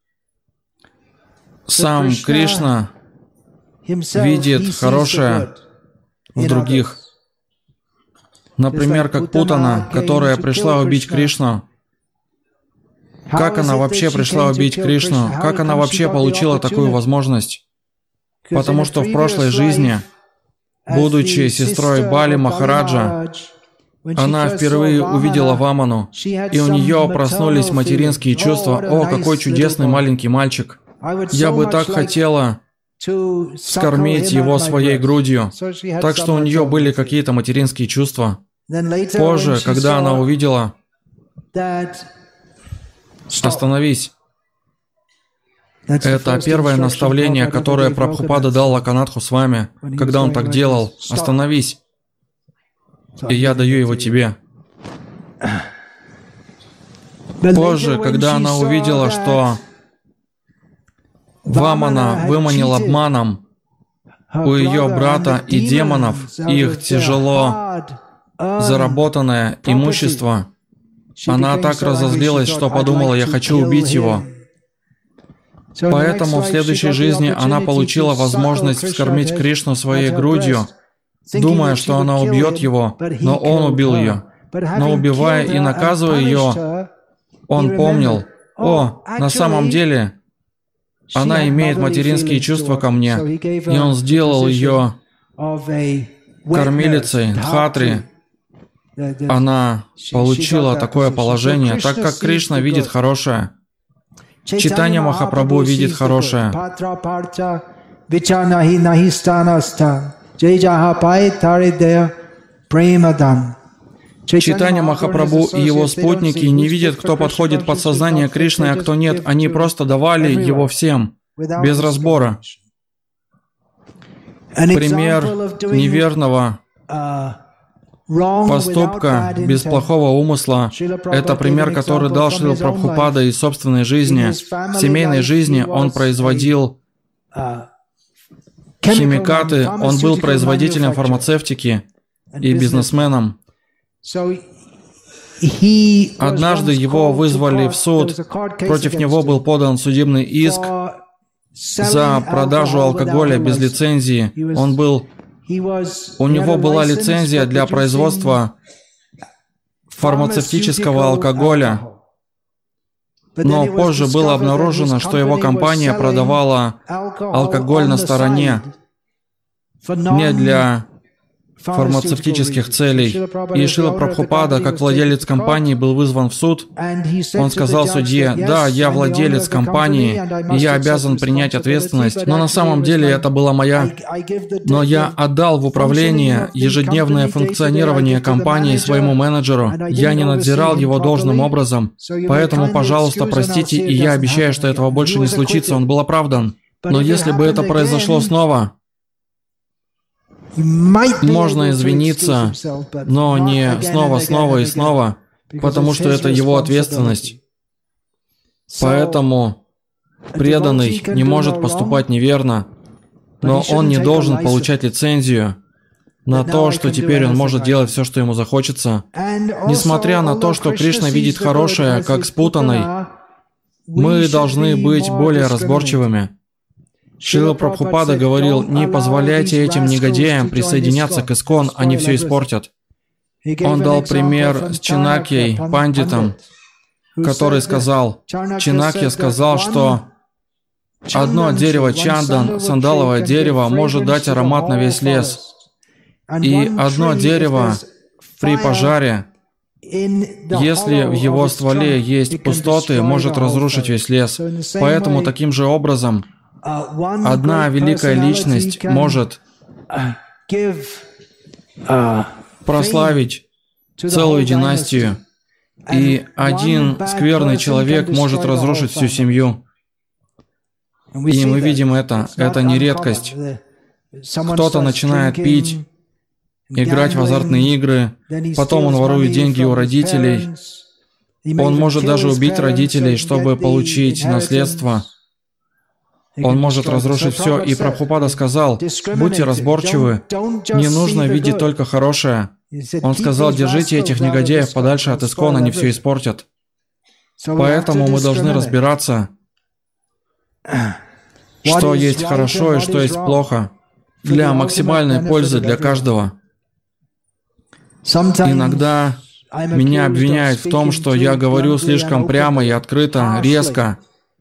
Сам Кришна видит хорошее в других. Например, как Путана, которая пришла убить Кришну. Как она вообще пришла убить Кришну? Как она вообще получила такую возможность? Потому что в прошлой жизни, будучи сестрой Бали Махараджа, она впервые увидела Ваману, и у нее проснулись материнские чувства. «О, какой чудесный маленький мальчик! Я бы так хотела вскормить его своей грудью». Так что у нее были какие-то материнские чувства. Позже, когда она увидела... Остановись. Это первое наставление, которое Прабхупада дал Локанатху с вами, когда он так делал. Остановись. И я даю его тебе. Позже, когда она увидела, что Вамана выманил обманом у ее брата и демонов их тяжело заработанное имущество, она так разозлилась, что подумала: я хочу убить его. Поэтому в следующей жизни она получила возможность вскормить Кришну своей грудью, думая, что она убьет его, но он убил ее. Но убивая и наказывая ее, он помнил: о, на самом деле, она имеет материнские чувства ко мне, и он сделал ее кормилицей Дхатри. Она получила такое положение, так как Кришна видит хорошее. Чайтанья Махапрабху видит хорошее. Чайтанья Махапрабху и его спутники не видят, кто подходит под сознание Кришны, а кто нет. Они просто давали его всем, без разбора. Пример неверного поступка без плохого умысла – это пример, который дал Шрила Прабхупада из собственной жизни. В семейной жизни он производил химикаты, он был производителем фармацевтики и бизнесменом. Однажды его вызвали в суд, против него был подан судебный иск за продажу алкоголя без лицензии. Он был, у него была лицензия для производства фармацевтического алкоголя, но позже было обнаружено, что его компания продавала алкоголь на стороне, не для фармацевтических целей. И Шрила Прабхупада, как владелец компании, был вызван в суд. Он сказал судье: «Да, я владелец компании, и я обязан принять ответственность, но на самом деле это была моя... Но я отдал в управление ежедневное функционирование компании своему менеджеру. Я не надзирал его должным образом. Поэтому, пожалуйста, простите, и я обещаю, что этого больше не случится». Он был оправдан. Но если бы это произошло снова, можно извиниться, но не снова, снова и снова, потому что это его ответственность. Поэтому преданный не может поступать неверно, но он не должен получать лицензию на то, что теперь он может делать все, что ему захочется. Несмотря на то, что Кришна видит хорошее как спутанной, мы должны быть более разборчивыми. Шрила Прабхупада говорил: «Не позволяйте этим негодяям присоединяться к ИСККОН, они все испортят». Он дал пример с Чанакьей, пандитом, который сказал, Чанакья сказал, что одно дерево чандан, сандаловое дерево, может дать аромат на весь лес. И одно дерево при пожаре, если в его стволе есть пустоты, может разрушить весь лес. Поэтому таким же образом одна великая личность может прославить целую династию, и один скверный человек может разрушить всю семью. И мы видим это. Это не редкость. Кто-то начинает пить, играть в азартные игры, потом он ворует деньги у родителей. Он может даже убить родителей, чтобы получить наследство. Он может разрушить все. И Прабхупада сказал: будьте разборчивы, не нужно видеть только хорошее. Он сказал: держите этих негодяев подальше от ИСККОН, они все испортят. Поэтому мы должны разбираться, что есть хорошо и что есть плохо, для максимальной пользы для каждого. Иногда меня обвиняют в том, что я говорю слишком прямо и открыто, резко.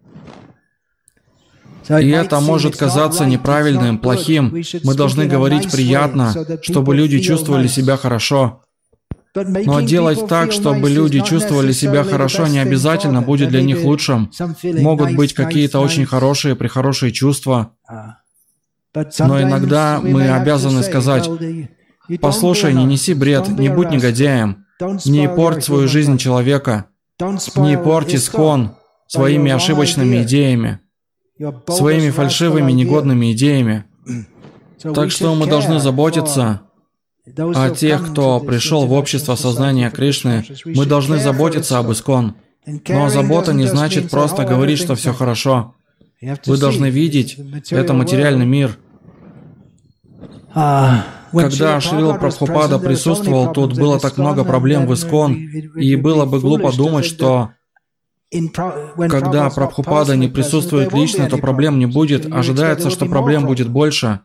И это может казаться неправильным, плохим. Мы должны говорить приятно, чтобы люди чувствовали себя хорошо. Но делать так, чтобы люди чувствовали себя хорошо, не обязательно будет для них лучшим. Могут быть какие-то очень хорошие, прехорошие чувства. Но иногда мы обязаны сказать: послушай, не неси бред, не будь негодяем, не порть свою жизнь человека, не порти ИСККОН своими ошибочными идеями, своими фальшивыми, негодными идеями. Так что мы должны заботиться о тех, кто пришел в общество сознания Кришны. Мы должны заботиться об ИСККОН. Но забота не значит просто говорить, что все хорошо. Вы должны видеть, это материальный мир. Когда Шрила Прабхупада присутствовал, тут было так много проблем в ИСККОН, и было бы глупо думать, что когда Прабхупада не присутствует лично, то проблем не будет. Ожидается, что проблем будет больше.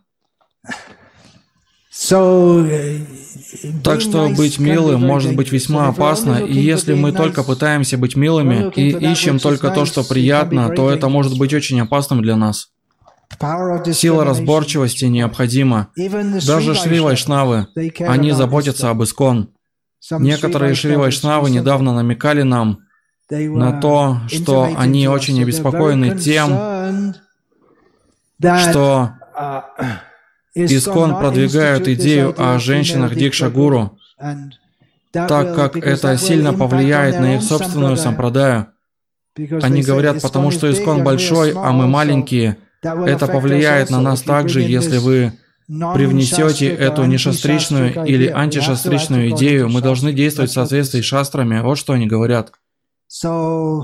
Так что быть милым может быть весьма опасно, и если мы только пытаемся быть милыми и ищем только то, что приятно, то это может быть очень опасным для нас. Сила разборчивости необходима. Даже Шри Вайшнавы, они заботятся об ИСККОН. Некоторые Шри Вайшнавы недавно намекали нам на то, что они очень обеспокоены тем, что ИСККОН продвигают идею о женщинах Дикша-гуру. так как это сильно повлияет на их собственную сампрадаю. Они говорят, потому что Искон большой, а мы маленькие. Это повлияет на нас также, если вы привнесете эту нешастричную или антишастричную идею. Мы должны действовать в соответствии с шастрами. Вот что они говорят. То,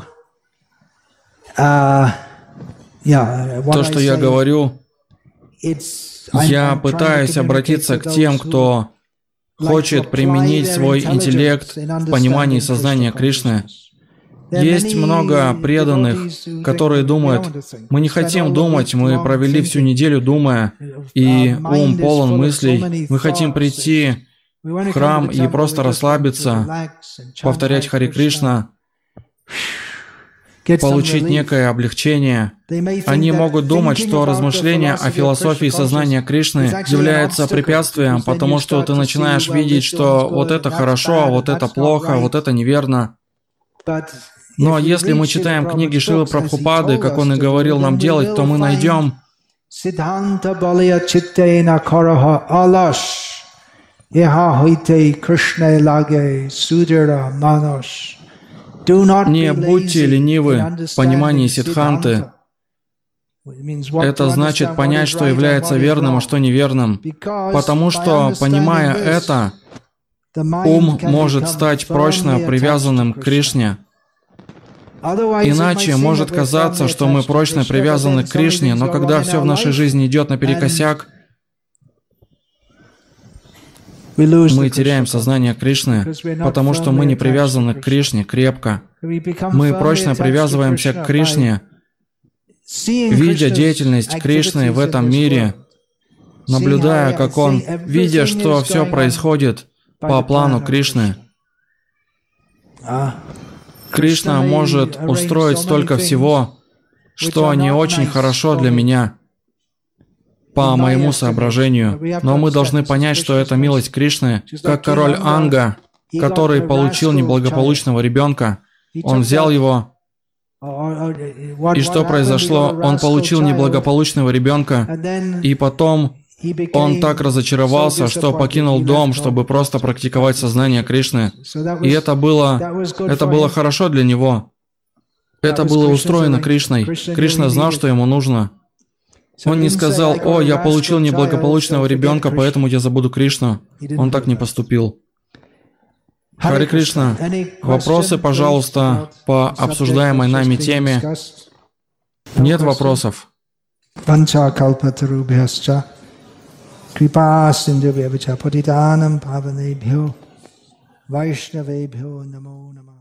что я говорю, я пытаюсь обратиться к тем, кто хочет применить свой интеллект в понимании сознания Кришны. Есть много преданных, которые думают, мы не хотим думать, мы провели всю неделю думая, и ум полон мыслей, мы хотим прийти в храм и просто расслабиться, повторять Харе Кришна, получить некое облегчение. Они могут думать, что размышление о философии сознания Кришны является препятствием, потому что ты начинаешь видеть, что вот это хорошо, а вот это плохо, вот это неверно. Но если мы читаем книги Шрилы Прабхупады, как он и говорил нам делать, то мы найдем не будьте ленивы в понимании Сиддханты. Это значит понять, что является верным, а что неверным. Потому что, понимая это, ум может стать прочно привязанным к Кришне. Иначе может казаться, что мы прочно привязаны к Кришне, но когда все в нашей жизни идет наперекосяк, мы теряем сознание Кришны, потому что мы не привязаны к Кришне крепко. Мы прочно привязываемся к Кришне, видя деятельность Кришны в этом мире, наблюдая, как Он, видя, что все происходит по плану Кришны. Кришна может устроить столько всего, что не очень хорошо для меня, по моему соображению. Но мы должны понять, что это милость Кришны, как король Анга, который получил неблагополучного ребенка. Он взял его, и что произошло? Он получил неблагополучного ребенка, и потом он так разочаровался, что покинул дом, чтобы просто практиковать сознание Кришны. И это было, это было хорошо для него. Это было устроено Кришной. Кришна знал, что ему нужно. Он не сказал, «О, я получил неблагополучного ребенка, поэтому я забуду Кришну». Он так не поступил. Харе Кришна. Вопросы, пожалуйста, по обсуждаемой нами теме. Нет вопросов. Крипа синдhu патитанам паванебхьо вайшнавебхьо намо нама.